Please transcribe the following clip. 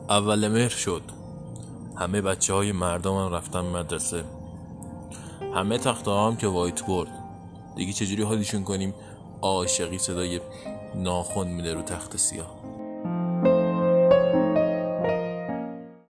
اول مهر شد. همه بچه های مردم هم رفتن مدرسه. همه تخته هم که وایت بورد. دیگه چجوری حالیشون کنیم؟ عاشقی صدای ناخن میده رو تخت سیاه.